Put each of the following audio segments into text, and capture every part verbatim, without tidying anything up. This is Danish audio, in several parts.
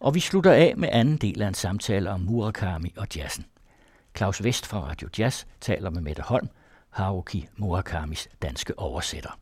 Og vi slutter af med anden del af en samtale om Murakami og jazzen. Claus Vest fra Radio Jazz taler med Mette Holm, Haruki Murakamis danske oversætter.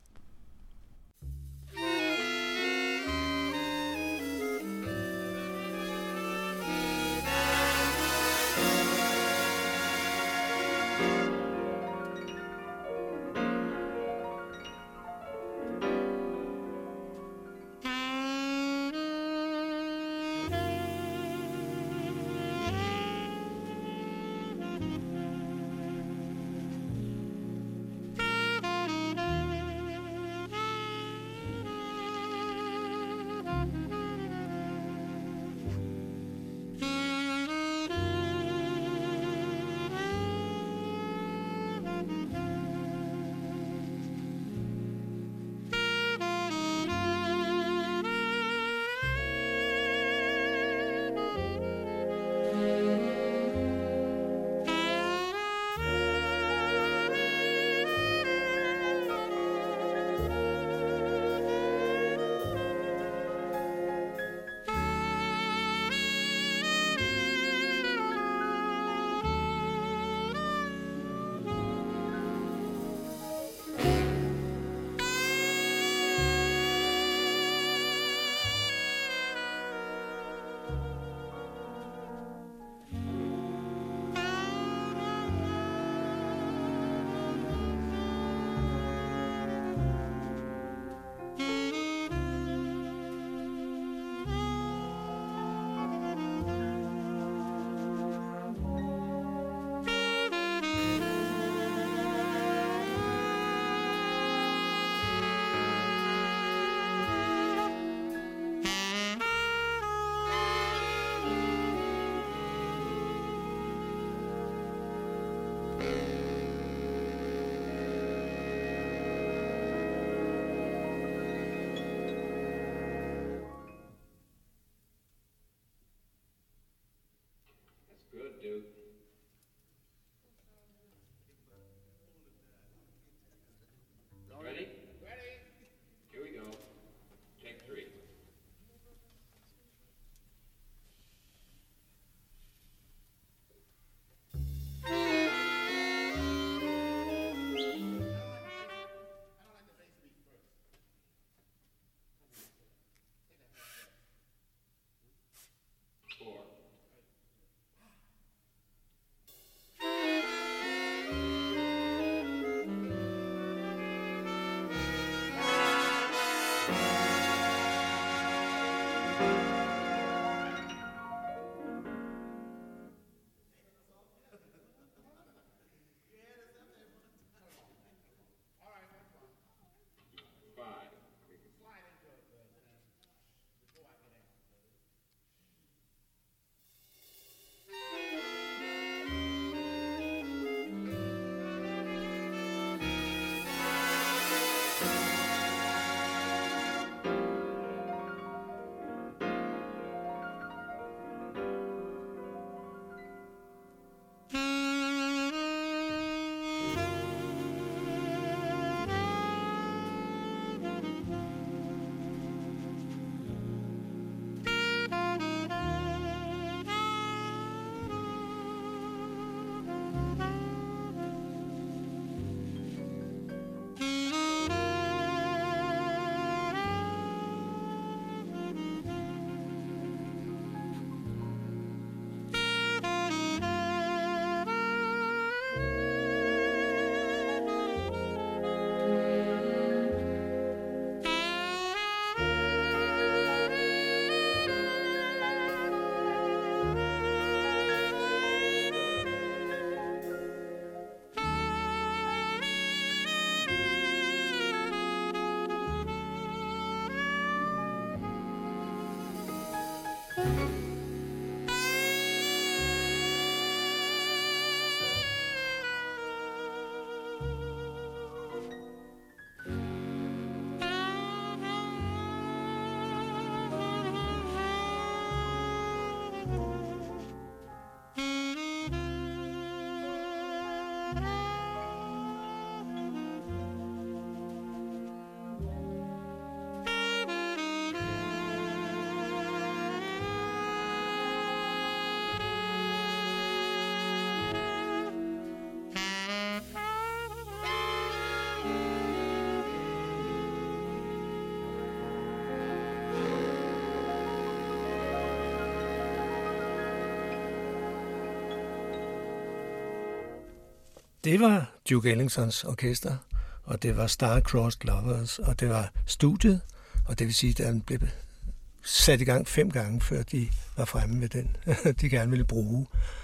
Det var Duke Ellingtons orkester, og det var Star-Crossed Lovers, og det var studiet, og det vil sige, at den blev sat i gang fem gange, før de var fremme med den, de gerne ville bruge.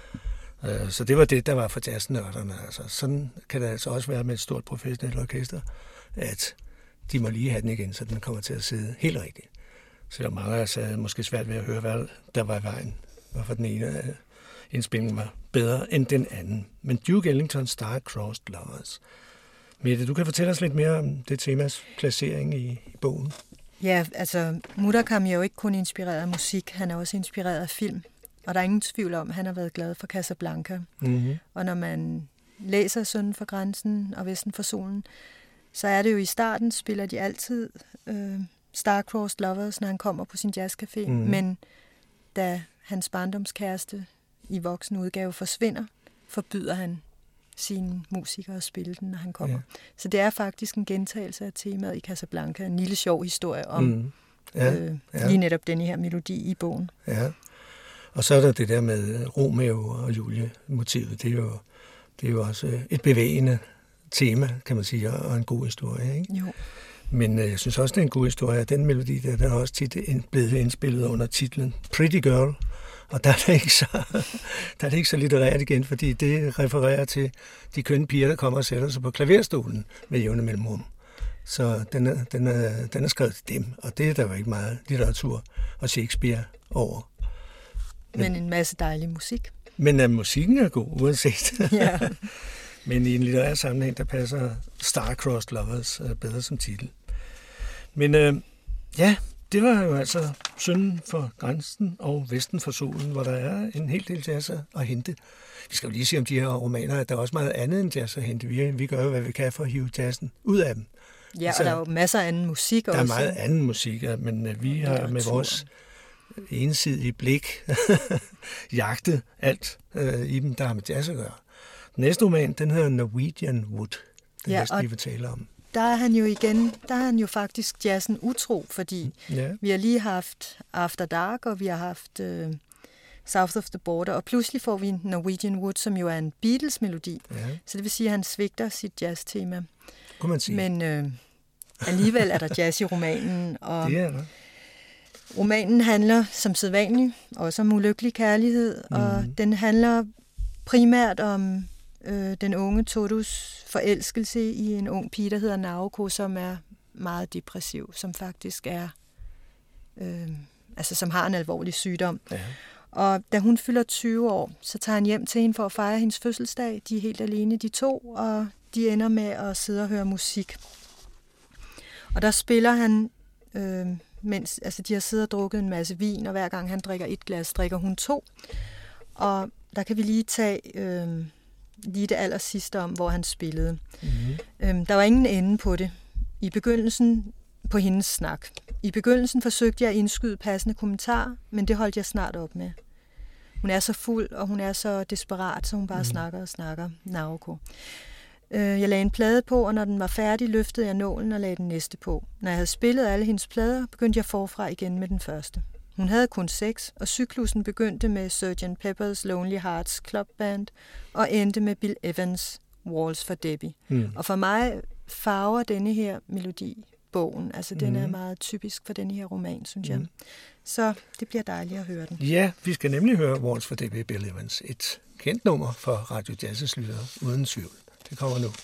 Så det var det, der var for jazznørderne. Altså, sådan kan det altså også være med et stort professionelt orkester, at de må lige have den igen, så den kommer til at sidde helt rigtigt. Selvom mange af os havde måske svært ved at høre, hvad der var i vejen, hvorfor den ene indspilning var bedre end den anden. Men Duke Ellingtons Star-Crossed Lovers. Mette, du kan fortælle os lidt mere om det temas placering i, i bogen. Ja, altså Murakami er jo ikke kun inspireret af musik, han er også inspireret af film. Og der er ingen tvivl om, at han har været glad for Casablanca. Mm-hmm. Og når man læser Sønden for grænsen og Vesten for solen, så er det jo i starten, spiller de altid øh, Star-Crossed Lovers, når han kommer på sin jazzcafé. Mm-hmm. Men da hans barndomskæreste i voksen udgave forsvinder, forbyder han sine musikere at spille den, når han kommer. Ja. Så det er faktisk en gentagelse af temaet i Casablanca. En lille sjov historie om mm. ja, øh, ja. lige netop denne her melodi i bogen. Ja. Og så er der det der med Romeo og Julie-motivet. Det er jo, det er jo også et bevægende tema, kan man sige, og en god historie. Ikke? Jo. Men øh, jeg synes også, det er en god historie. Den melodi, der, der er også tit blevet indspillet under titlen Pretty Girl. Og der er det ikke så, der er det ikke så litterært igen, fordi det refererer til de kønne piger, der kommer og sætter sig på klaverstolen med jævne mellemrum. Så den er, den, er, den er skrevet til dem, og det er der jo ikke meget litteratur og Shakespeare over. Men, men en masse dejlig musik. Men uh, musikken er god, uanset. Ja. Men i en litterær sammenhæng, der passer Star-Crossed Lovers uh, bedre som titel. Men uh, ja, det var jo altså Sønden for grænsen og Vesten for solen, hvor der er en hel del jazz at hente. Vi skal jo lige sige om de her romaner, at der er også meget andet end jazz at hente. Vi, vi gør jo, hvad vi kan for at hive jazzen ud af dem. Ja, altså, og der er jo masser af anden musik der også. Der er meget anden musik, men uh, vi har med vores ensidige blik jagtet alt uh, i dem, der har med jazz at gøre. Den næste roman, den hedder Norwegian Wood. Den ja, næste, vi vil tale om. Der er han jo igen, der er han jo faktisk jazzen utro, fordi ja. vi har lige haft After Dark, og vi har haft uh, South of the Border, og pludselig får vi Norwegian Wood, som jo er en Beatles-melodi. Ja. Så det vil sige, at han svigter sit jazz-tema. Kunne man sige. Men øh, alligevel er der jazz i romanen, og det er der. Romanen handler som sædvanligt også om ulykkelig kærlighed, mm. og den handler primært om øh, den unge Todus forelskelse i en ung pige, der hedder Naoko, som er meget depressiv, som faktisk er, øh, altså som har en alvorlig sygdom. Ja. Og da hun fylder tyve år, så tager han hjem til hende for at fejre hendes fødselsdag. De er helt alene, de to, og de ender med at sidde og høre musik. Og der spiller han, øh, mens altså de har siddet og drukket en masse vin, og hver gang han drikker et glas, drikker hun to. Og der kan vi lige tage øh, lige det aller sidste om, hvor han spillede. Mm-hmm. Øh, der var ingen ende på det. I begyndelsen på hendes snak. I begyndelsen forsøgte jeg at indskyde passende kommentarer, men det holdt jeg snart op med. Hun er så fuld, og hun er så desperat, så hun bare mm. snakker og snakker. Naoko. Jeg lagde en plade på, og når den var færdig, løftede jeg nålen og lagde den næste på. Når jeg havde spillet alle hendes plader, begyndte jeg forfra igen med den første. Hun havde kun seks, og cyklusen begyndte med sergeant Pepper's Lonely Hearts Club Band og endte med Bill Evans' Waltz for Debbie. Mm. Og for mig farver denne her melodi bogen. Altså, mm. den er meget typisk for denne her roman, synes jeg. Mm. Så det bliver dejligt at høre den. Ja, vi skal nemlig høre Waltz for Debbie, Bill Evans. Et kendt nummer for Radio Jazz's lyttere, uden tvivl. Det kommer nu.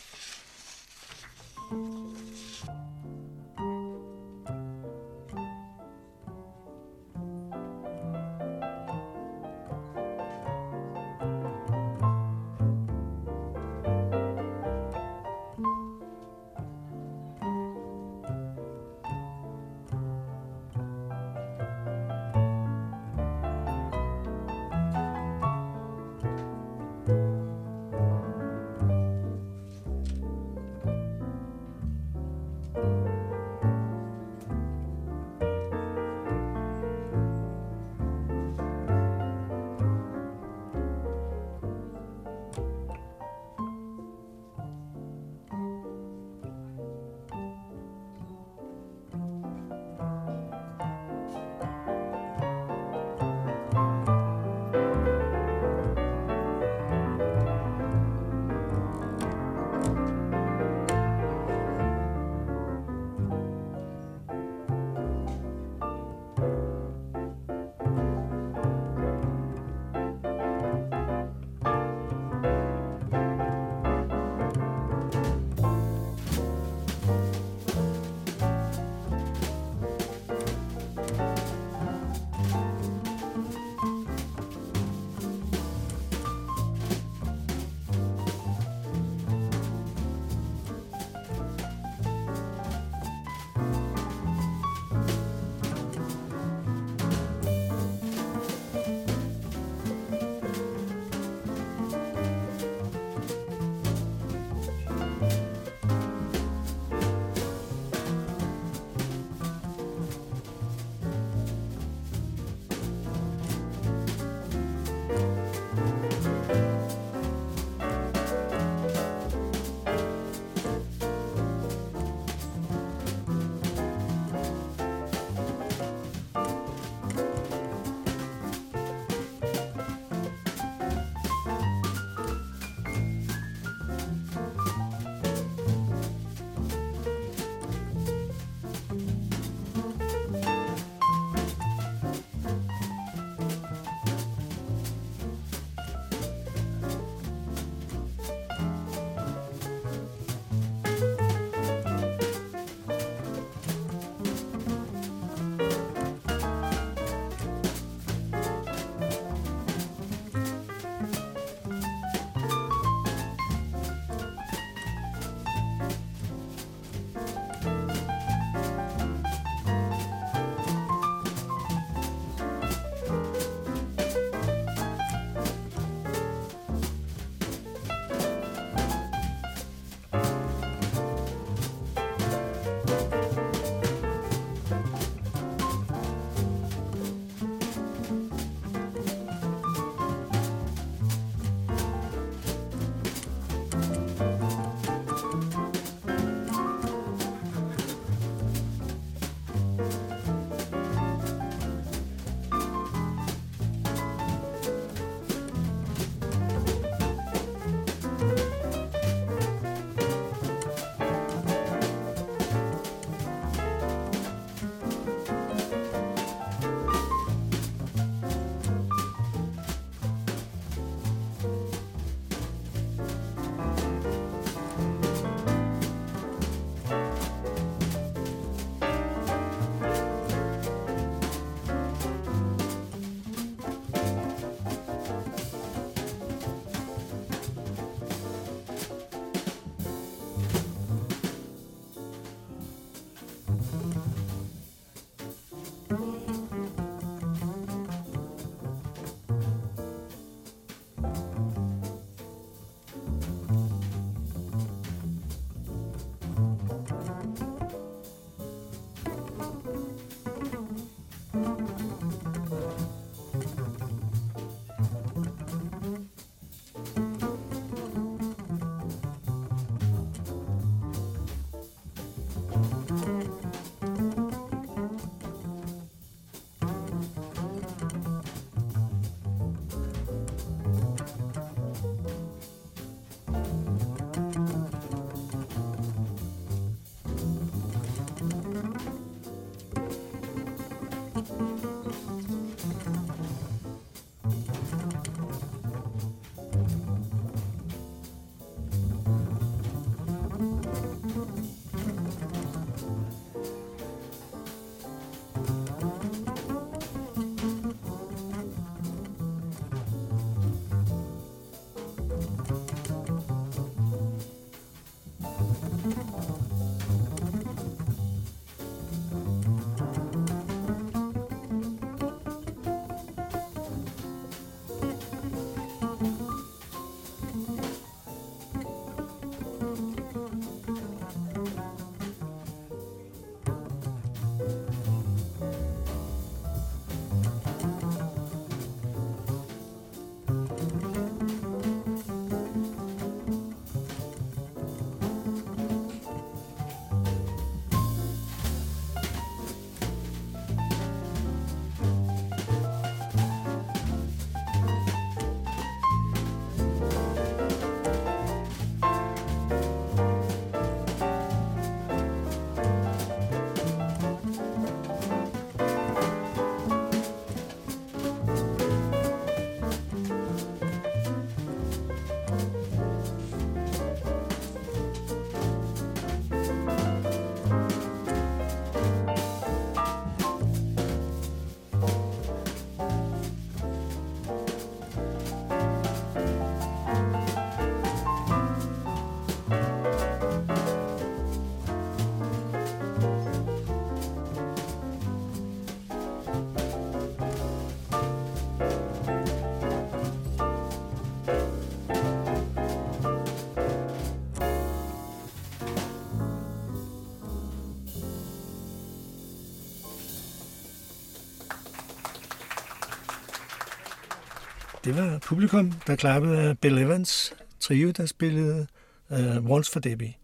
Det var publikum, der klappede af Bill Evans trio, der spillede uh, Waltz for Debbie.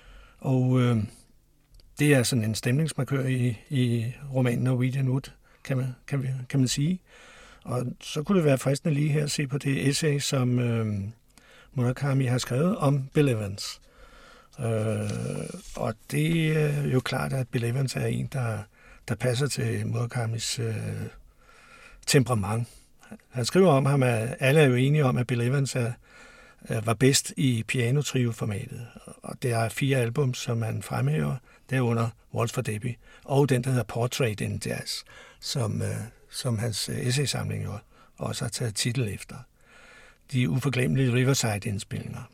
Og uh, det er sådan en stemningsmarkør i, i romanen Norwegian Wood, kan man, kan, kan man sige. Og så kunne det være fristende lige her at se på det essay, som uh, Murakami har skrevet om Bill Evans. Uh, og det er jo klart, at Bill Evans er en, der, der passer til Murakamis uh, temperament. Han skriver om ham, at alle er jo enige om, at Bill Evans er, var bedst i pianotrio-formatet. Og det er fire album, som han fremhæver, derunder Waltz for Debbie, og den, der hedder Portrait in Jazz, som, som hans essaysamling jo også har taget titel efter. De uforglemmelige Riverside-indspilninger.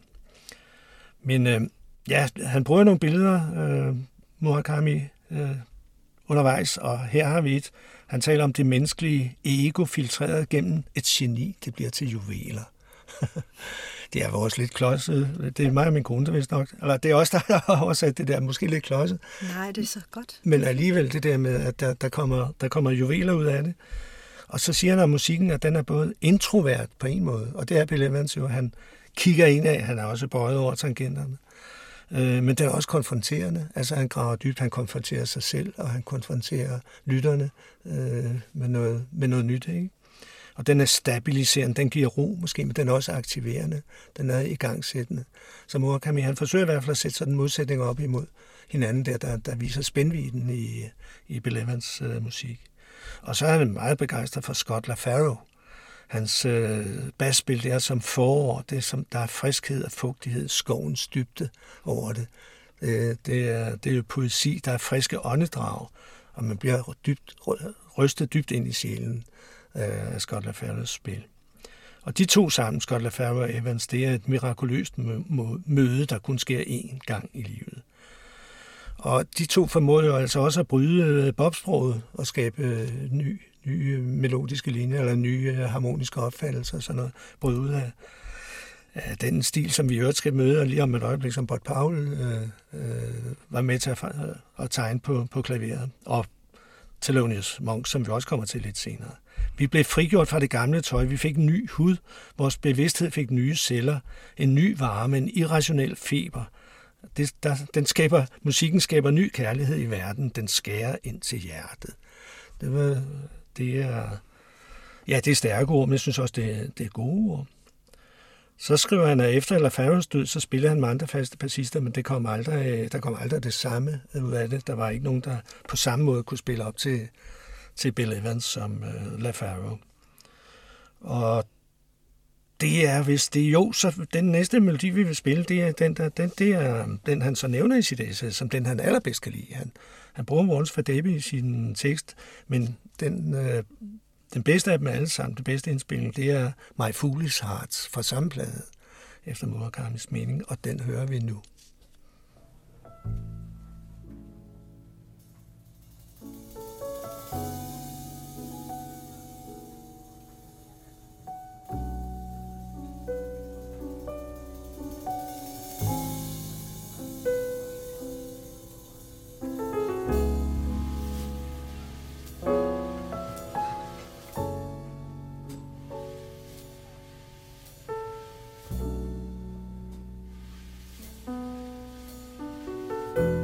Men ja, han bruger nogle billeder, øh, Murakami, øh, undervejs, og her har vi et. Han taler om det menneskelige ego filtreret gennem et geni. Det bliver til juveler. Det er vores lidt klodset. Det er mig og min kone, der vist nok. Eller det er også der har oversat det der, måske lidt klodset. Nej, det er så godt. Men alligevel det der med, at der, der, kommer, der kommer juveler ud af det. Og så siger han om musikken, at den er både introvert på en måde, og det er Bill Evans jo. Han kigger ind af, han er også bøjet over tangenterne. Men den er også konfronterende. Altså han graver dybt, han konfronterer sig selv, og han konfronterer lytterne øh, med, noget, med noget nyt. Ikke? Og den er stabiliserende, den giver ro måske, men den er også aktiverende. Den er igangsættende. Så Murakami, han forsøger i hvert fald at sætte sådan en modsætning op imod hinanden, der, der, der viser spændvidden i, i Bill Evans øh, musik. Og så er han meget begejstret for Scott LaFaro. Hans øh, basspil, det er som forår, det er som, der er friskhed og fugtighed, skovens dybde over det. Øh, det, er, det er jo poesi, der er friske åndedrag, og man bliver dybt, rystet dybt ind i sjælen øh, af Scott LaFaros spil. Og de to sammen, Scott LaFaro og Evans, det er et mirakuløst møde, der kun sker én gang i livet. Og de to formåede jo altså også at bryde bobsproget og skabe ny nye melodiske linjer, eller nye harmoniske opfattelser, sådan noget, bryde ud af, af den stil, som vi i øvrigt skal møde, og lige om et øjeblik, som Bud Powell øh, øh, var med til at, at tegne på, på klaveret, og Thelonious Monk, som vi også kommer til lidt senere. Vi blev frigjort fra det gamle tøj, vi fik en ny hud, vores bevidsthed fik nye celler, en ny varme, en irrationel feber. Det, der, den skaber, musikken skaber ny kærlighed i verden, den skærer ind til hjertet. Det var... Det er, ja, det er stærke ord, men jeg synes også, det er, det er gode ord. Så skriver han, at efter LaFaros død, så spillede han med andre faste bassister, men det kom aldrig, der kom aldrig det samme ud af det. Der var ikke nogen, der på samme måde kunne spille op til, til Bill Evans som øh, LaFaro. Og det er, hvis det jo, så den næste melodi, vi vil spille, det er den, der, den, det er, den han så nævner i sit essay, som den, han allerbedst kan lide. Han, han bruger Once for Debbie i sin tekst, men den, øh, den bedste af dem alle sammen, den bedste indspilning, det er My Foolish Heart fra samme plade, efter Murakamis mening, og den hører vi nu. thank you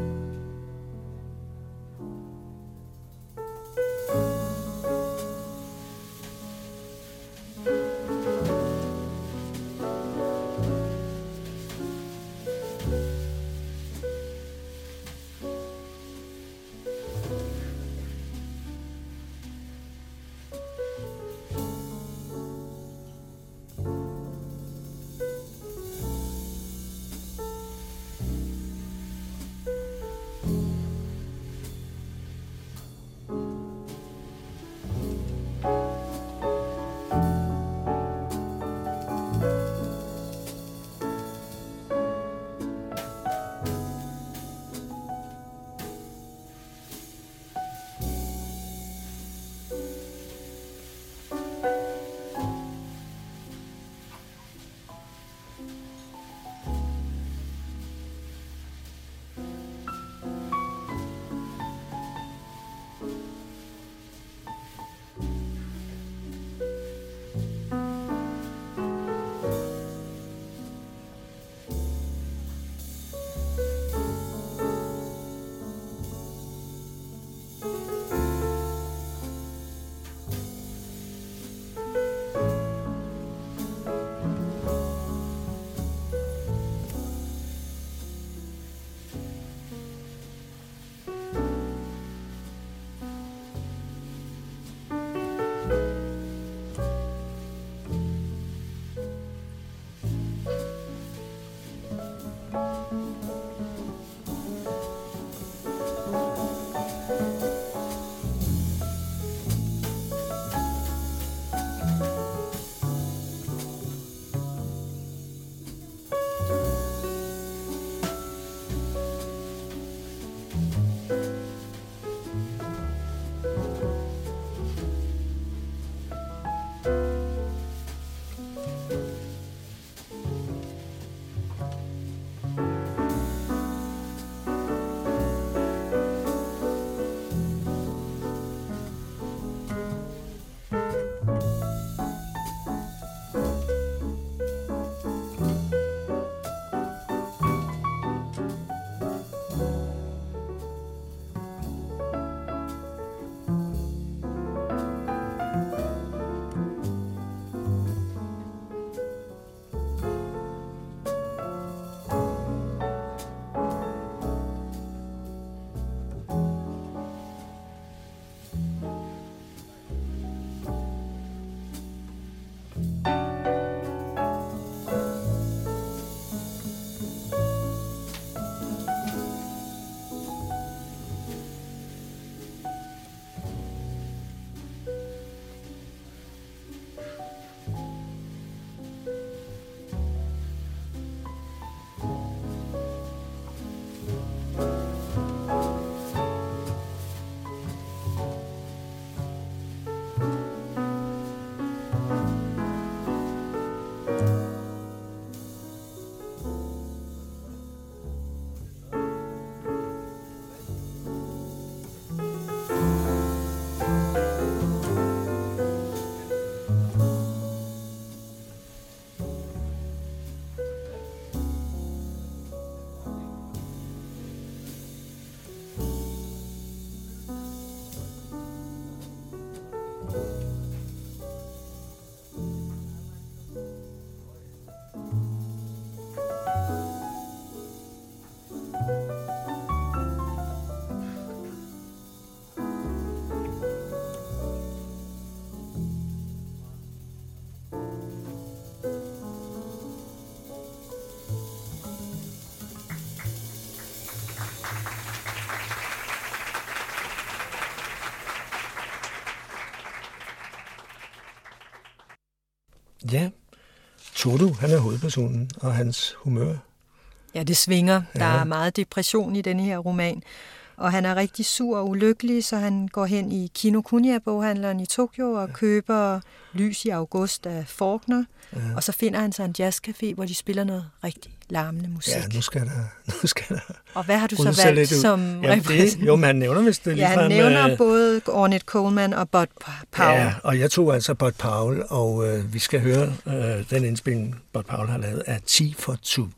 Ja, Toto, han er hovedpersonen, og hans humør. Ja, det svinger. Der Ja. er meget depression i denne her roman. Og han er rigtig sur og ulykkelig, så han går hen i Kinokuniya-boghandleren i Tokyo og køber Lys i august af Faulkner. Ja. Og så finder han sig en jazzcafé, hvor de spiller noget rigtig larmende musik. Ja, nu skal der... Nu skal der og hvad har du så rulle sig valgt lidt ud. som Jamen, det, jo, men han nævner vist det Ja, ligefrem. han nævner øh, både Ornette Coleman og Bud Powell. Ja, og jeg tog altså Bud Powell, og øh, vi skal høre øh, den indspilning, Bud Powell har lavet af Tea for Two.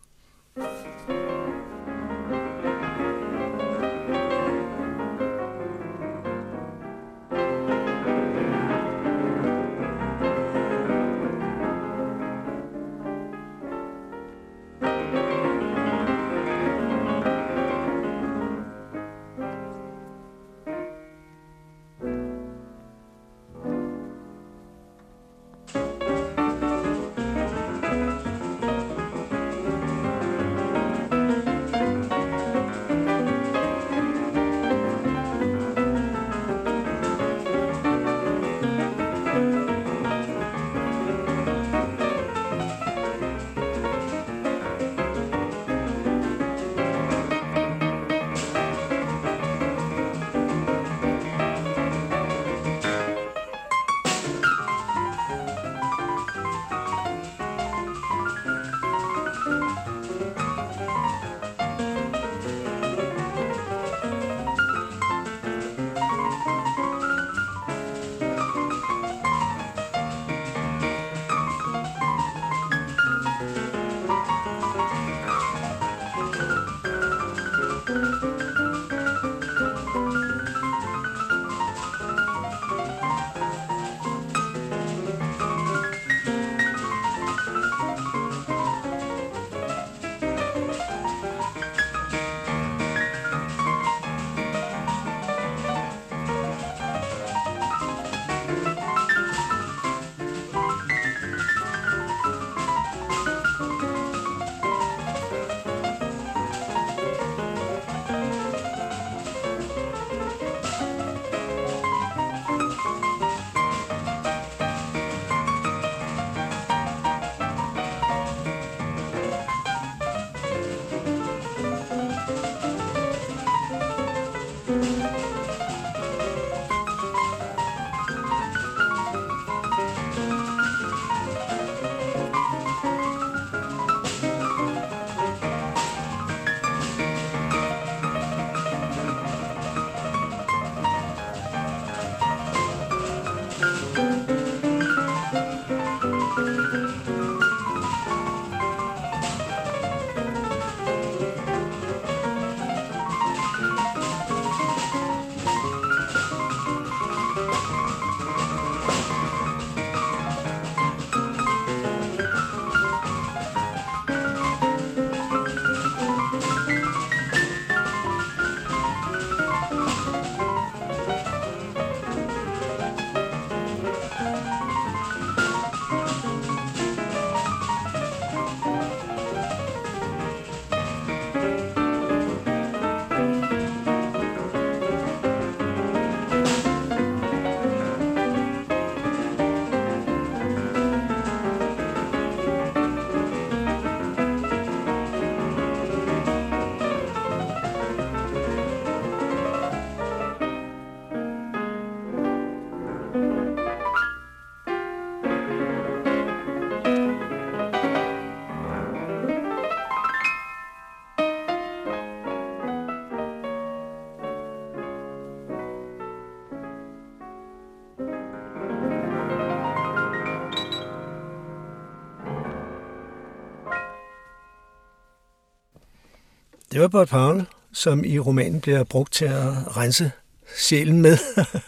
Det var Bud Powell, som i romanen bliver brugt til at rense sjælen med,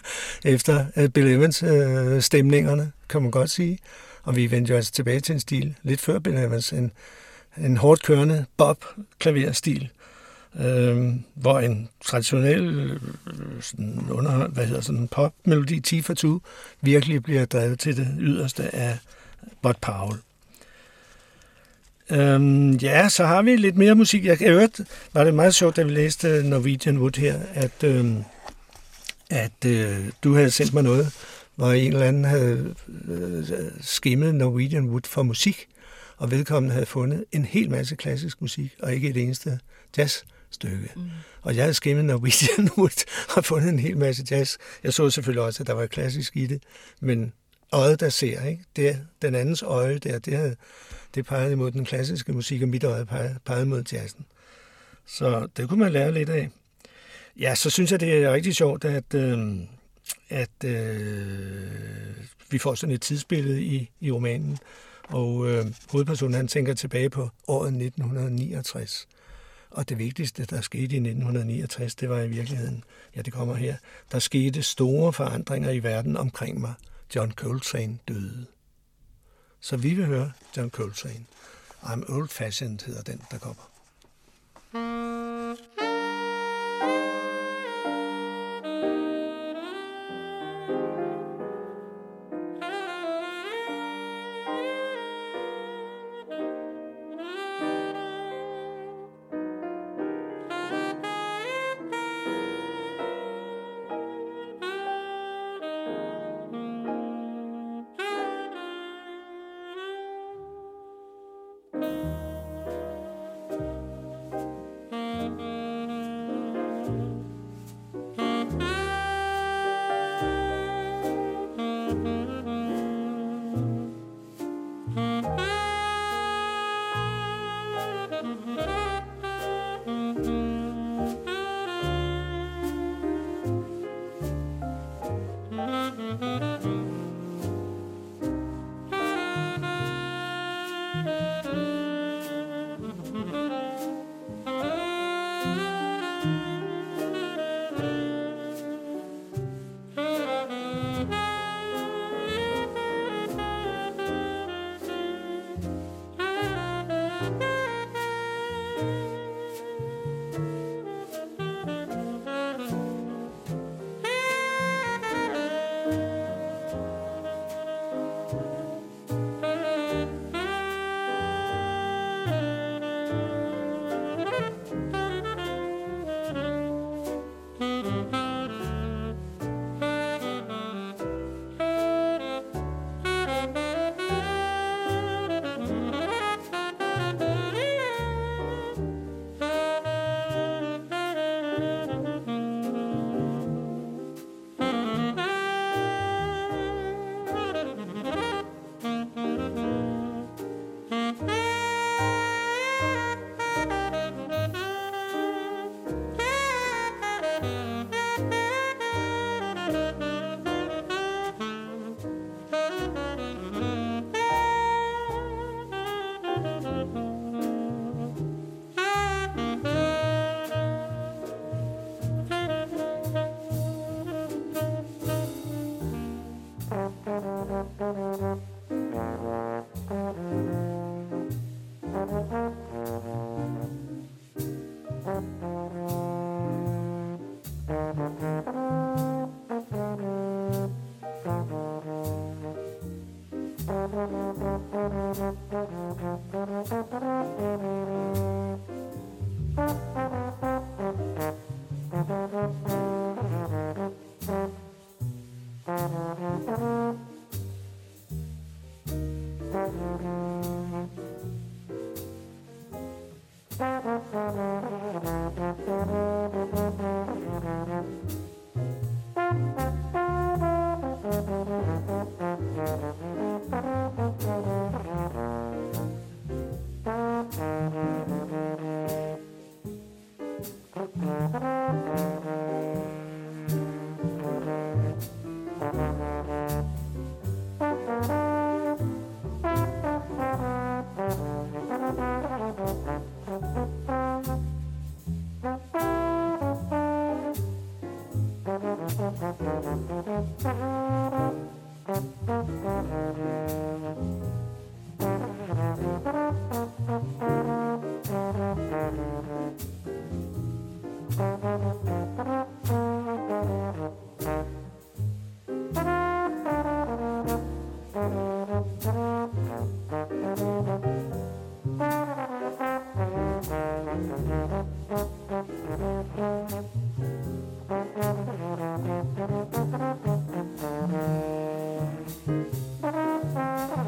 efter Bill Evans øh, stemningerne, kan man godt sige. Og vi vendte jo altså tilbage til en stil lidt før Bill Evans, en, en hårdt kørende Bob-klaverstil, øh, hvor en traditionel øh, sådan under, hvad hedder sådan en pop-melodi Tea for Two virkelig bliver drevet til det yderste af Bud Powell. Øhm, ja, så har vi lidt mere musik. Jeg har hørt, var det meget sjovt, da vi læste Norwegian Wood her, at, øhm, at øh, du havde sendt mig noget, hvor en eller anden havde skimmet Norwegian Wood for musik, og vedkommende havde fundet en hel masse klassisk musik, og ikke et eneste jazzstykke. Mm. Og jeg havde skimmet Norwegian Wood og fundet en hel masse jazz. Jeg så selvfølgelig også, at der var klassisk i det, men øjet, der ser, ikke? Det, den andens øje der, det, havde, det pegede mod den klassiske musik, og mit øje pegede, pegede mod jazzen. Så det kunne man lære lidt af. Ja, så synes jeg, det er rigtig sjovt, at, øh, at øh, vi får sådan et tidsbillede i, i romanen, og øh, hovedpersonen, han tænker tilbage på året nitten niogtres. Og det vigtigste, der skete i nitten niogtres, det var i virkeligheden, ja, det kommer her, der skete store forandringer i verden omkring mig. John Coltrane døde. Så vi vil høre John Coltrane. I'm Old Fashioned hedder den, der kommer.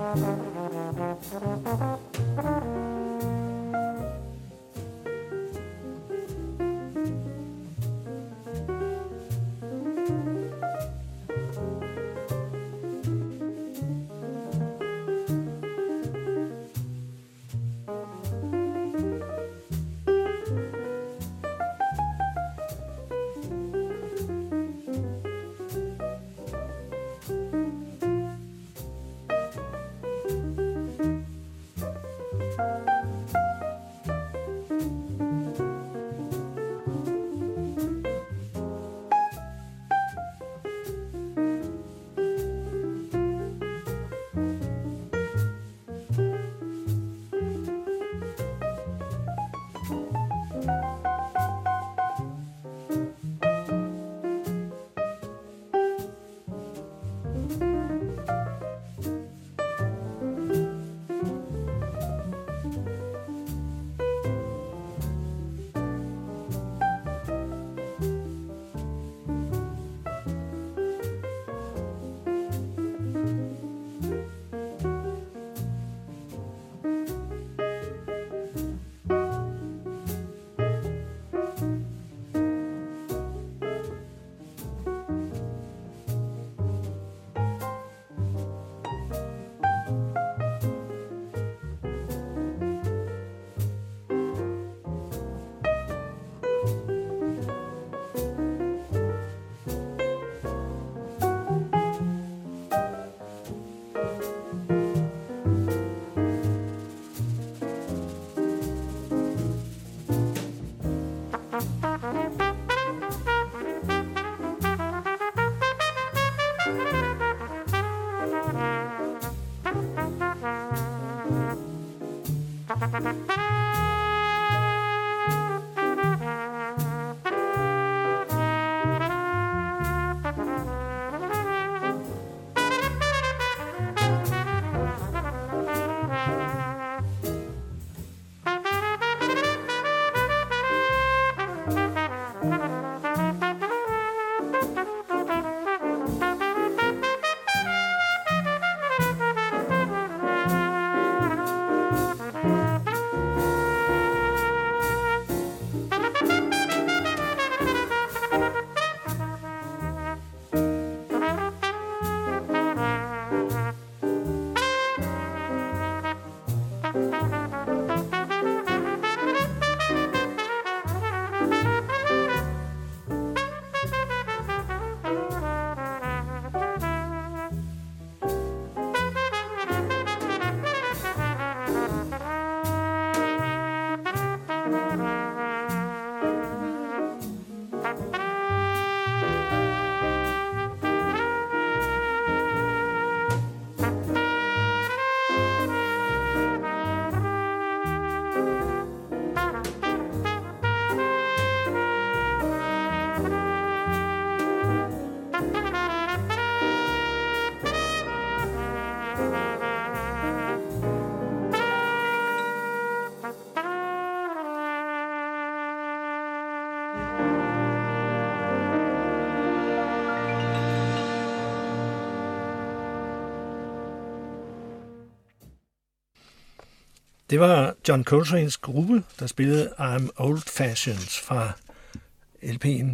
Det var John Coltranes gruppe, der spillede I'm Old Fashioned fra L P'en,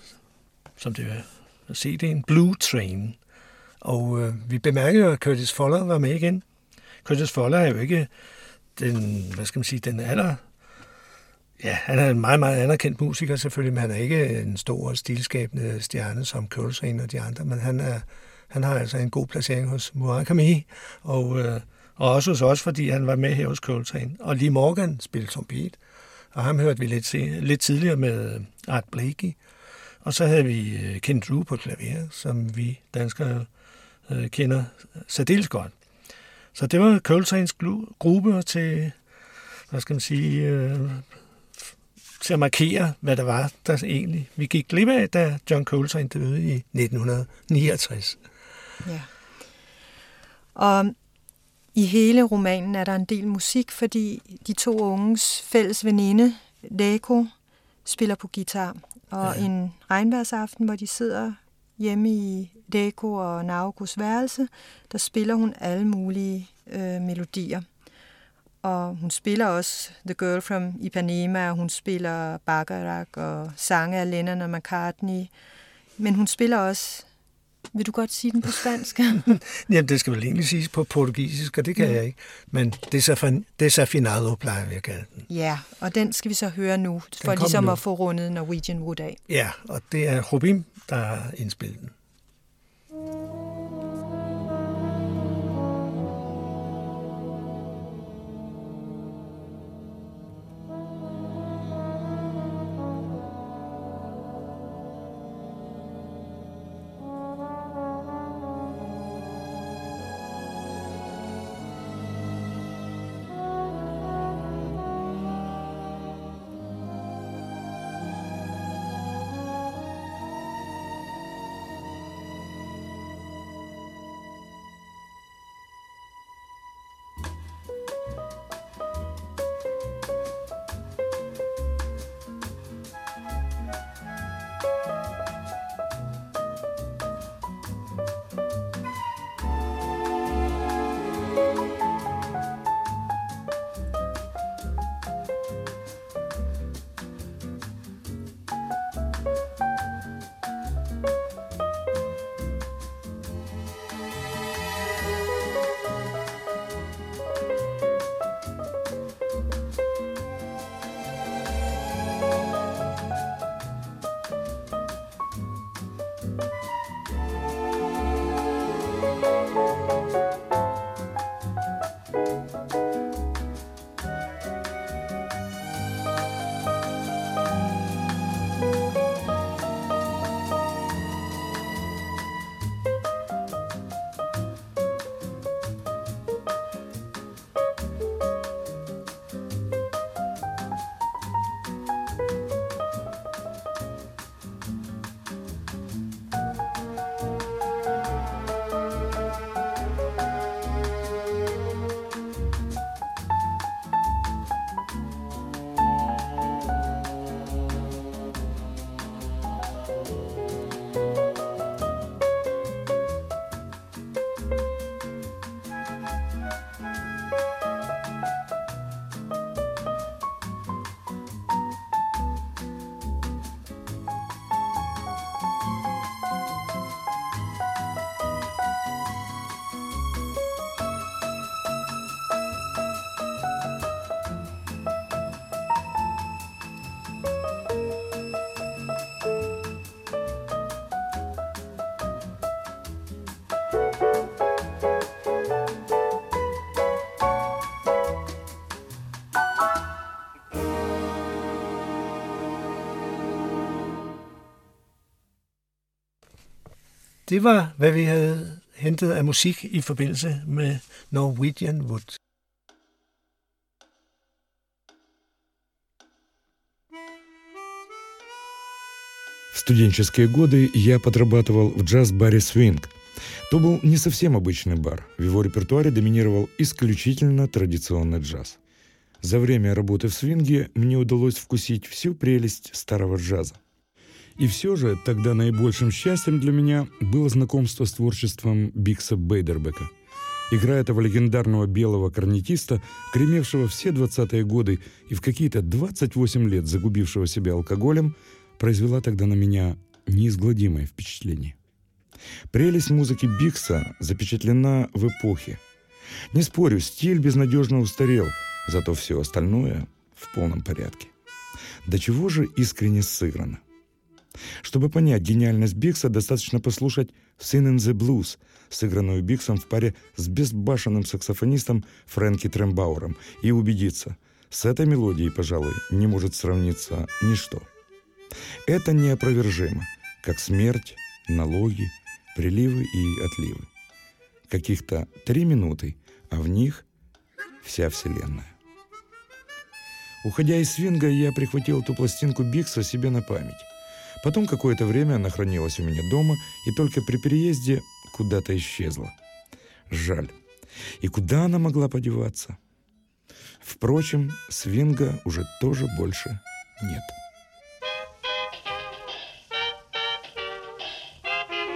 som det var C D'en, Blue Train. Og øh, vi bemærkede jo, at Curtis Fuller var med igen. Curtis Fuller er jo ikke den, hvad skal man sige, den aller... Ja, han er en meget, meget anerkendt musiker selvfølgelig, men han er ikke en stor stilskabende stjerne som Coltrane og de andre, men han, er, han har altså en god placering hos Murakami, og, øh, og også hos os, fordi han var med her hos Coltrane. Og Lee Morgan spillede trompet, og ham hørte vi lidt, se, lidt tidligere med Art Blakey. Og så havde vi Ken Drew på klaver, som vi danskere øh, kender særdeles godt. Så det var Coltranes gruppe til, hvad skal man sige, øh, til at markere, hvad der var, der egentlig vi gik glip af, da John Coltrane døde i nitten niogtres. Ja. Og i hele romanen er der en del musik, fordi de to unges fælles veninde, Leiko, spiller på guitar. Og ja. En regnvejrsaften, hvor de sidder hjemme i Deko og Naokos værelse, der spiller hun alle mulige øh, melodier. Og hun spiller også The Girl from Ipanema, og hun spiller Bacharach og sange af Lennon og McCartney. Men hun spiller også... Vil du godt sige den på spansk? Jamen, det skal vel egentlig siges på portugisisk, og det kan mm. jeg ikke. Men Desafinado plejer vi at kalde den. Ja, og den skal vi så høre nu, for ligesom nu. At få rundet Norwegian Wood af. Ja, og det er Jobim, der har indspillet den. Det var, hvad vi havde hentet af musik i forbindelse med Norwegian Wood. В студенческие годы я подрабатывал в джаз-баре «Свинг». То был не совсем обычный бар. В его репертуаре доминировал исключительно традиционный джаз. За время работы в «Свинге» мне удалось вкусить всю прелесть старого джаза. И все же тогда наибольшим счастьем для меня было знакомство с творчеством Бигса Бейдербека. Игра этого легендарного белого корнетиста, гремевшего все двадцатые годы и в какие-то двадцать восемь лет загубившего себя алкоголем, произвела тогда на меня неизгладимое впечатление. Прелесть музыки Бигса запечатлена в эпохе. Не спорю, стиль безнадежно устарел, зато все остальное в полном порядке. До чего же искренне сыграно. Чтобы понять гениальность Бигса, достаточно послушать «Singin' the Blues», сыгранную Бигсом в паре с безбашенным саксофонистом Фрэнки Трембауэром, и убедиться, с этой мелодией, пожалуй, не может сравниться ничто. Это неопровержимо, как смерть, налоги, приливы и отливы. Каких-то три минуты, а в них вся вселенная. Уходя из свинга, я прихватил эту пластинку Бигса себе на память. Потом какое-то время она хранилась у меня дома и только при переезде куда-то исчезла. Жаль. И куда она могла подеваться? Впрочем, свинга уже тоже больше нет.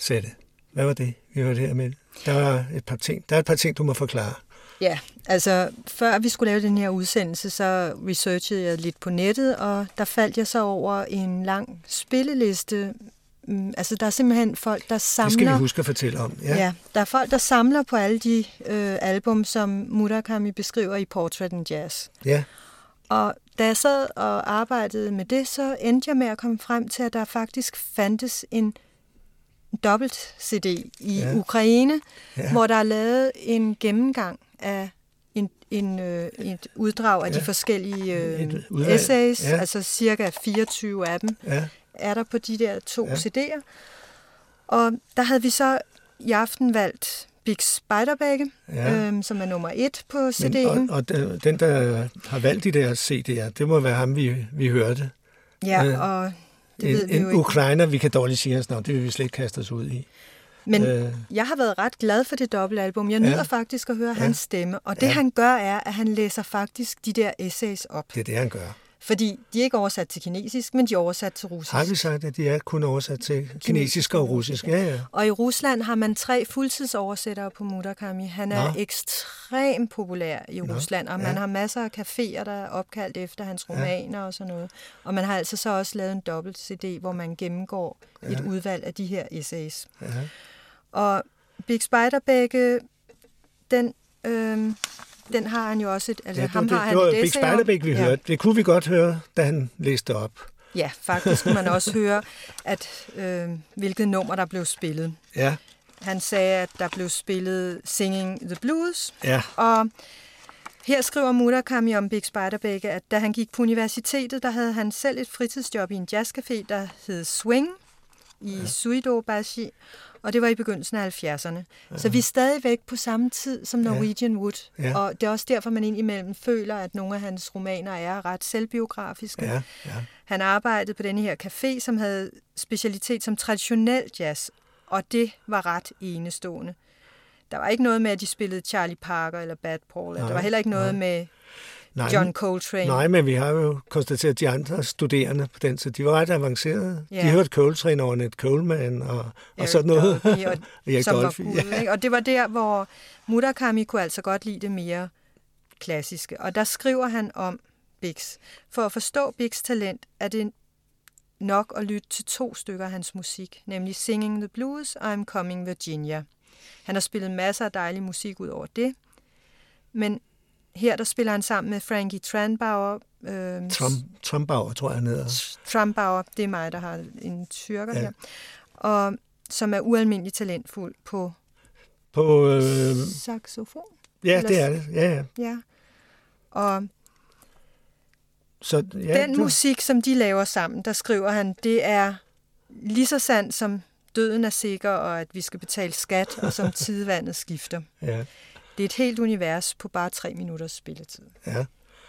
sætte. Hvad var det, vi hørte her med? Der var et par ting, der er et par ting, du må forklare. Ja, altså før vi skulle lave den her udsendelse, så researchede jeg lidt på nettet, og der faldt jeg så over en lang spilleliste. Altså der er simpelthen folk, der samler... Det skal vi huske at fortælle om. Ja, ja der er folk, der samler på alle de øh, album, som Murakami beskriver i Portrait in Jazz. Ja. Og da jeg sad og arbejdede med det, så endte jeg med at komme frem til, at der faktisk fandtes en dobbelt C D i ja. Ukraine, ja. hvor der er lavet en gennemgang af en, en, øh, et uddrag af ja. de forskellige øh, essays, ja. altså cirka fireogtyve af dem, ja. er der på de der to ja. C D'er. Og der havde vi så i aften valgt Bix Beiderbecke, ja. øhm, som er nummer et på C D'en. Men, og, og den, der har valgt de der C D'er, det må være ham, vi, vi hørte. Ja, øh, og det en, ved vi en jo ikke. ukrainer, vi kan dårligt sige hans navn, det vil vi slet ikke kaste os ud i. Men øh, jeg har været ret glad for det dobbeltalbum. Jeg nyder ja. faktisk at høre ja. hans stemme, og det ja. han gør er, at han læser faktisk de der essays op. Det er det, han gør. Fordi de er ikke oversat til kinesisk, men de er oversat til russisk. Har vi sagt, at de er kun oversat til kinesisk og russisk? Ja, ja. Og i Rusland har man tre fuldtidsoversættere på Murakami. Han er Nå. ekstremt populær i Nå. Rusland, og man ja. har masser af caféer, der er opkaldt efter hans romaner ja. og sådan noget. Og man har altså så også lavet en dobbelt C D, hvor man gennemgår ja. et udvalg af de her essays. Ja. Og Bix Beiderbecke, den... Øh, Den har han jo også et, altså ja, ham det, har han det var et Bix Beiderbecke, vi ja. hørte. Det kunne vi godt høre, da han læste op. Ja, faktisk kunne man også høre, at øh, hvilket nummer der blev spillet. Ja. Han sagde, at der blev spillet Singing the Blues. Ja. Og her skriver Murakami om Bix Beiderbecke, at da han gik på universitetet, der havde han selv et fritidsjob i en jazzcafé, der hed Swing i ja. Suidobashi. Og det var i begyndelsen af halvfjerdserne. Ja. Så vi er stadigvæk på samme tid som Norwegian ja. Wood. Ja. Og det er også derfor, man indimellem føler, at nogle af hans romaner er ret selvbiografiske. Ja. Ja. Han arbejdede på denne her café, som havde specialitet som traditionel jazz. Og det var ret enestående. Der var ikke noget med, at de spillede Charlie Parker eller Bad Paul. Nej, der var heller ikke noget nej. med nej, John Coltrane. Nej, men vi har jo konstateret, at de andre studerende på den, så de var ret avancerede. Ja. De hørte Coltrane over Ned Coleman og, og sådan noget. Dolby, og, som Dolphy, var Gud, ja. Og det var der, hvor Murakami kunne altså godt lide det mere klassiske. Og der skriver han om Bix. For at forstå Bix' talent, er det nok at lytte til to stykker af hans musik, nemlig Singing the Blues og I'm Coming Virginia. Han har spillet masser af dejlig musik ud over det, men her der spiller han sammen med Frankie Trumbauer. Øh, Trump, Trumbauer, tror jeg, han hedder. Trumbauer, det er mig, der har en tyrker ja. her, og som er ualmindeligt talentfuld på, på øh, saxofon. Ja, eller, det er det. Ja, ja. ja. Og så, ja, den det... musik, som de laver sammen, der skriver han, det er lige så sandt som døden er sikker, og at vi skal betale skat, og som tidevandet skifter. Ja. Det er et helt univers på bare tre minutters spilletid. Ja.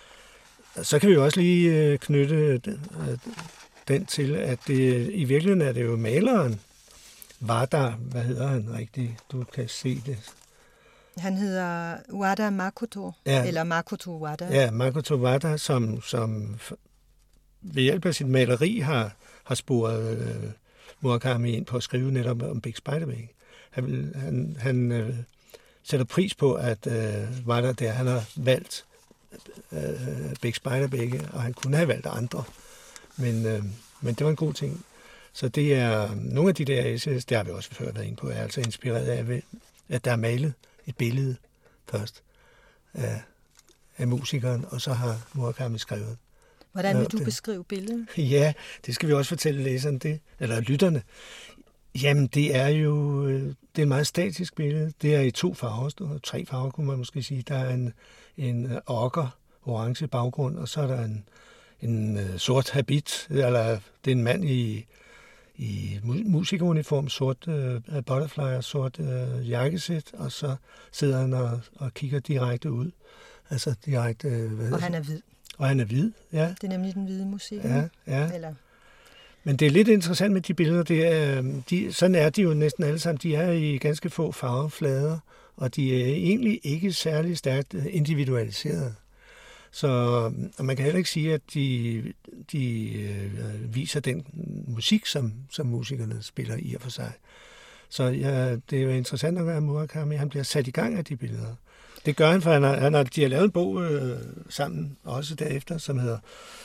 Så kan vi jo også lige knytte den til, at det, i virkeligheden er det jo maleren, Wada, hvad hedder han rigtigt? Du kan se det. Han hedder Wada Makoto, ja. eller Makoto Wada. Ja, Makoto Wada, som, som ved hjælp af sit maleri har, har sporet øh, Murakami ind på at skrive netop om Bix Beiderbecke. Han, han, han øh, sætter pris på, at øh, Wada der, han har valgt øh, Bix Beiderbecke, og han kunne have valgt andre. Men, øh, men det var en god ting. Så det er nogle af de der essays, det har vi også før været inde på, er altså inspireret af, at der er malet et billede først af, af musikeren, og så har Murakami skrevet. Hvordan vil du det. beskrive billedet? Ja, det skal vi også fortælle læseren det, eller lytterne. Jamen, det er jo det er et meget statisk billede. Det er i to farver, tre farver kunne man måske sige. Der er en, en okker, orange baggrund, og så er der en, en sort habit, eller det er en mand i, i musikeruniform, sort uh, butterfly og sort uh, jakkesæt, og så sidder han og, og kigger direkte ud. Altså direkte... Hvad og han er hvid. Og han er hvid, ja. Det er nemlig den hvide musik. Ja, ja. Eller... Men det er lidt interessant med de billeder. Det er, de, sådan er de jo næsten alle sammen. De er i ganske få farveflader, og de er egentlig ikke særlig stærkt individualiseret. Så og man kan heller ikke sige, at de, de øh, viser den musik, som, som musikerne spiller i og for sig. Så ja, det er jo interessant at være Murakami. Han bliver sat i gang af de billeder. Det gør han, for han har, han har, de har lavet en bog øh, sammen, også derefter, som hedder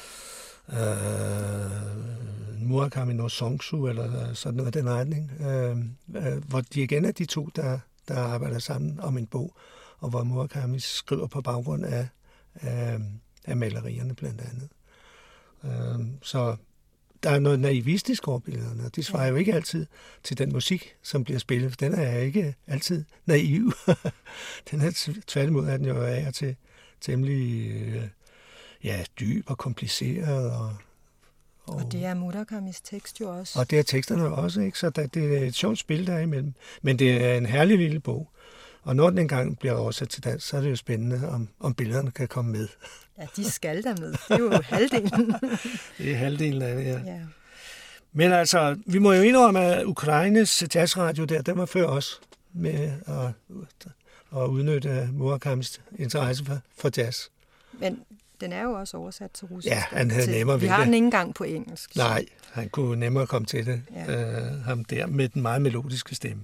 øh, Murakami no Songsu, eller sådan noget af den retning, øh, øh, hvor de igen er de to, der, der arbejder sammen om en bog, og hvor Murakami skriver på baggrund af, af, af malerierne blandt andet. Øh, så der er noget naivistisk over billederne, og de svarer jo ikke altid til den musik, som bliver spillet, for den er ikke altid naiv. Den er tværtimod, at den jo er til temmelig ja, dyb og kompliceret. Og, og, og det er Murakamis tekst jo også. Og det er teksterne også, ikke? Så der, det er et sjovt spil, der er imellem. Men det er en herlig lille bog. Og når den engang bliver oversat til dansk, så er det jo spændende, om, om billederne kan komme med. Ja, de skal der med. Det er jo halvdelen. Det er halvdelen af det, ja. ja. Men altså, vi må jo indrømme, at Ukraines jazzradio der, den var før os med at, at udnytte Murakamis interesse for, for jazz. Men den er jo også oversat til russisk. Ja, han havde nemmere ved det. Vi har den ikke engang på engelsk. Nej, han kunne nemmere komme til det. Ja. Uh, ham der med den meget melodiske stemme.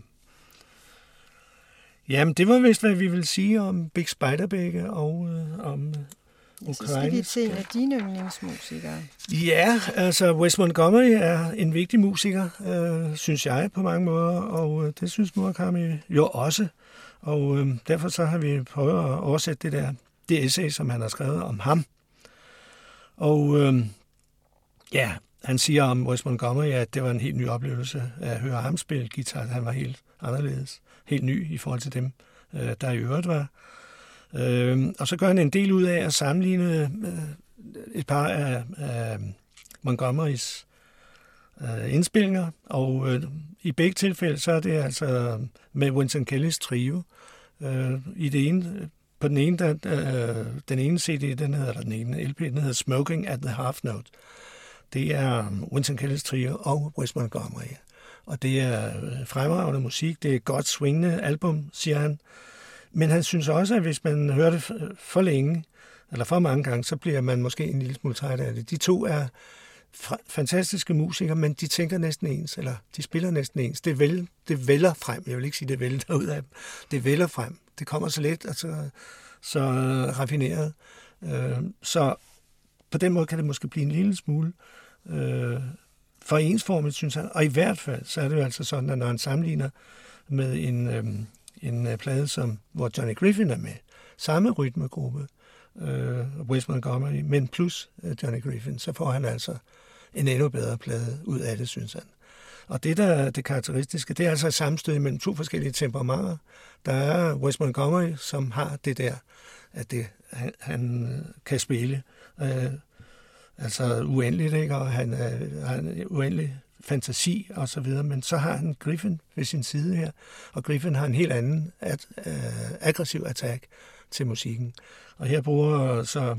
Jamen, det var vist, hvad vi vil sige om Bix Beiderbecke og øh, om ja, så skal vi til en af dine yndlingsmusikere. Ja, altså Wes Montgomery er en vigtig musiker, øh, synes jeg på mange måder, og øh, det synes Murakami jo også. Og øh, derfor så har vi prøvet at oversætte det der det essay, som han har skrevet om ham. Og øh, ja, han siger om Wes Montgomery, at det var en helt ny oplevelse at høre ham spille guitar. Han var helt anderledes, helt ny i forhold til dem, øh, der i øvrigt var. Øh, og så gør han en del ud af at sammenligne øh, et par af, af Montgomerys øh, indspillinger, og øh, i begge tilfælde, så er det altså med Winston Kellys trio. Øh, i det ene, på den ene, der, øh, den ene C D, den hedder, eller den ene L P, den hedder Smoking at the Half Note. Det er Winston Kellys trio og Wes Montgomery. Og det er fremragende musik, det er et godt swingende album, siger han. Men han synes også, at hvis man hører det for længe, eller for mange gange, så bliver man måske en lille smule træt af det. De to er fantastiske musikere, men de tænker næsten ens, eller de spiller næsten ens. Det, vel, det vælger frem. Jeg vil ikke sige, det vælter ud af dem. Det vælger frem. Det kommer så let og så, så raffineret. Så på den måde kan det måske blive en lille smule for ensformet, synes han. Og i hvert fald, så er det jo altså sådan, at når han sammenligner med en, øhm, en plade, som, hvor Johnny Griffin er med, samme rytmegruppe, øh, Wes Montgomery, men plus øh, Johnny Griffin, så får han altså en endnu bedre plade ud af det, synes han. Og det, der er det karakteristiske, det er altså et sammenstød mellem to forskellige temperamenter. Der er Wes Montgomery, som har det der, at det, han, han kan spille øh, altså uendeligt, ikke? Og han øh, har en uendelig fantasi og så videre, men så har han Griffin ved sin side her, og Griffin har en helt anden at, øh, aggressiv attack til musikken. Og her bruger så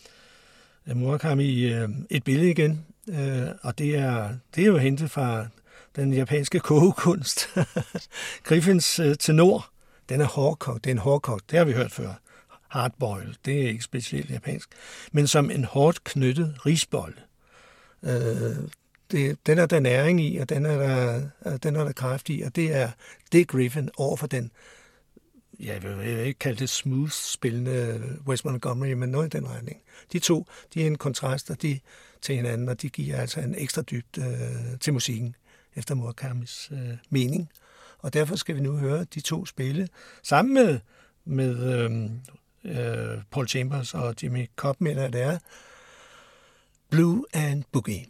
Murakami øh, et billede igen, øh, og det er, det er jo hentet fra den japanske kogekunst. Griffins øh, tenor, den er hårdkogt, det er en hårdkogt, det har vi hørt før. Hardboil, det er ikke specielt japansk, men som en hårdt knyttet risbolle. Øh, det, den er der næring i, og den er der, den er der kraft i, og det er det Griffin over for den, jeg vil ikke kalde det smooth-spillende Wes Montgomery, men noget i den retning. De to, de er en kontrast og de, til hinanden, og de giver altså en ekstra dybt øh, til musikken, efter Murakamis øh, mening. Og derfor skal vi nu høre de to spille sammen med, med øh, øh, Paul Chambers og Jimmy Cobb, mener det er Blue and Boogie.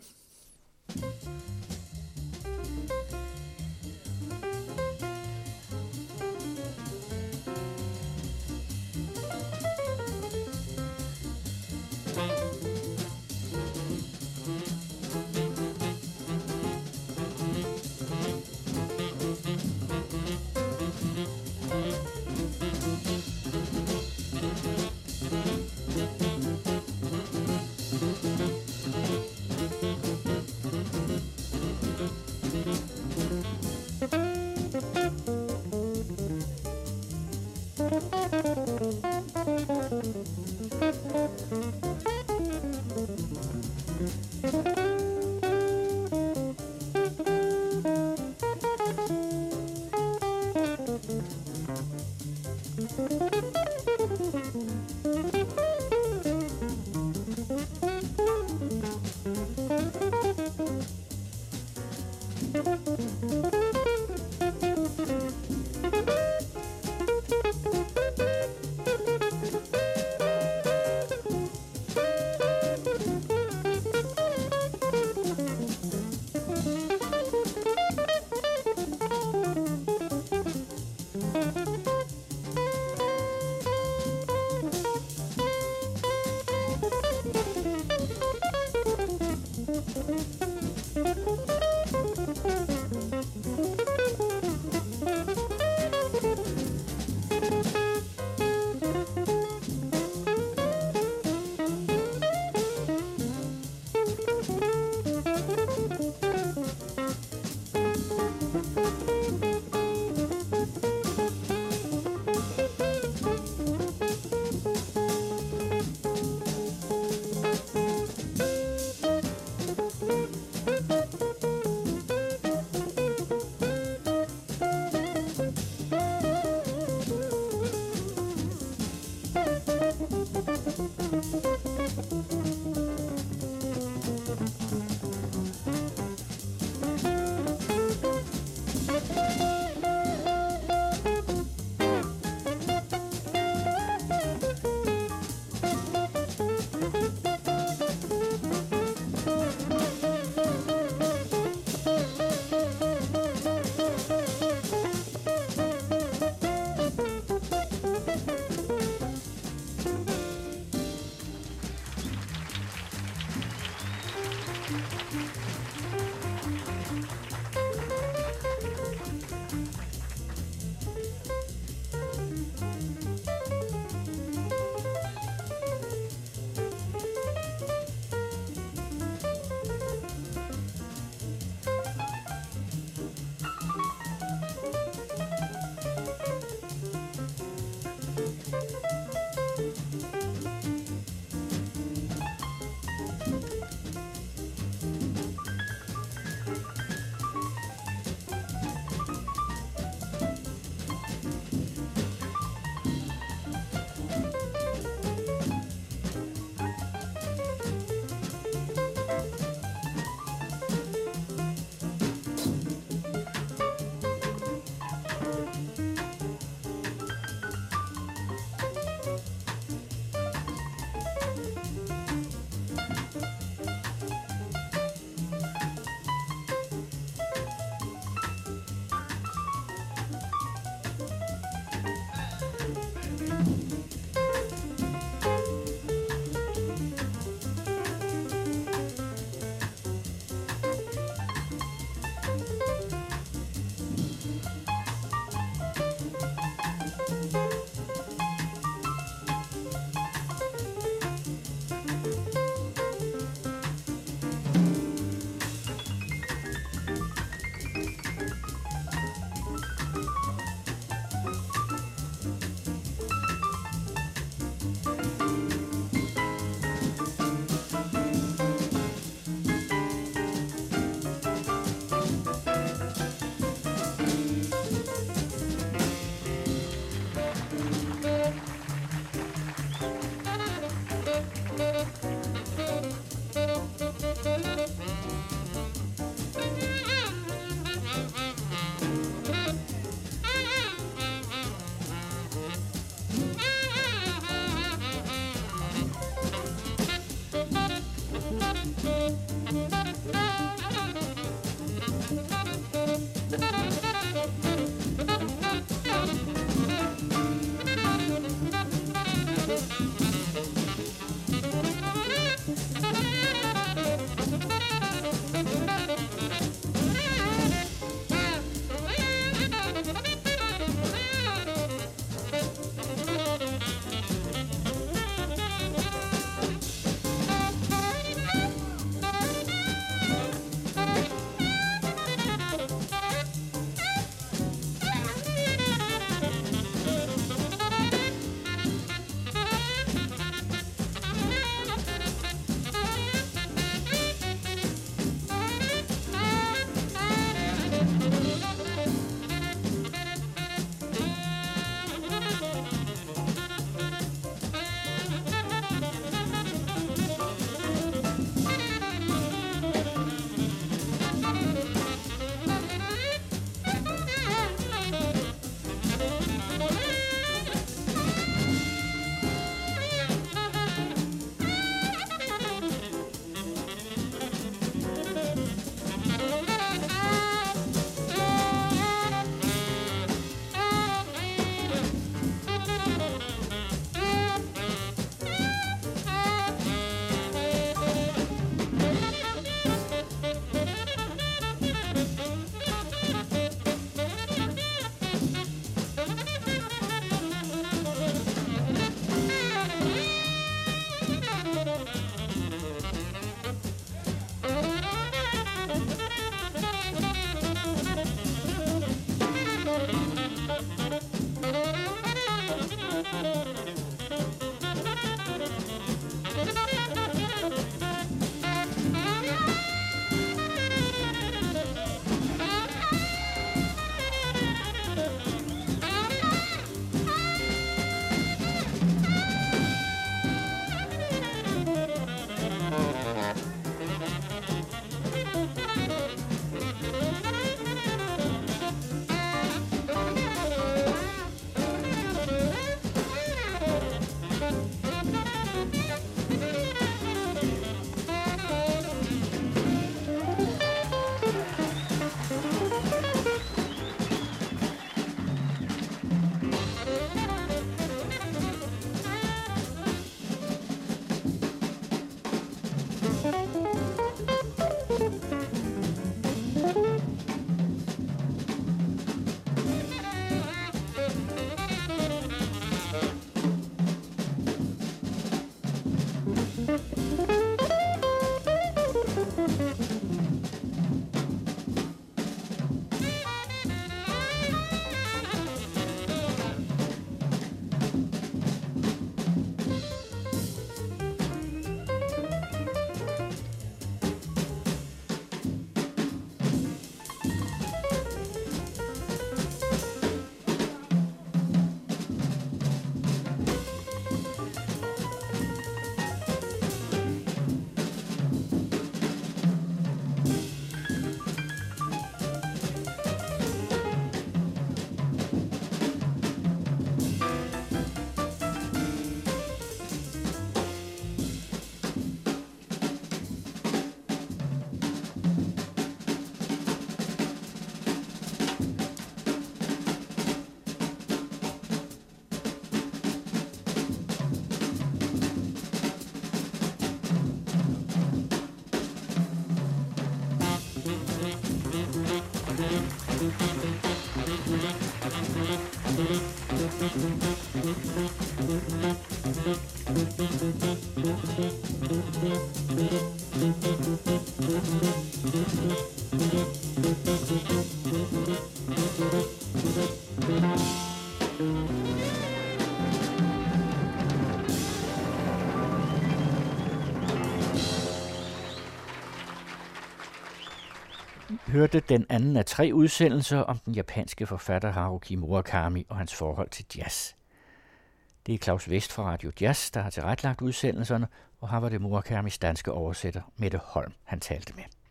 Hørte den anden af tre udsendelser om den japanske forfatter Haruki Murakami og hans forhold til jazz. Det er Claus Vest fra Radio Jazz, der har tilrettelagt udsendelserne, og her var det Murakamis danske oversætter Mette Holm, han talte med.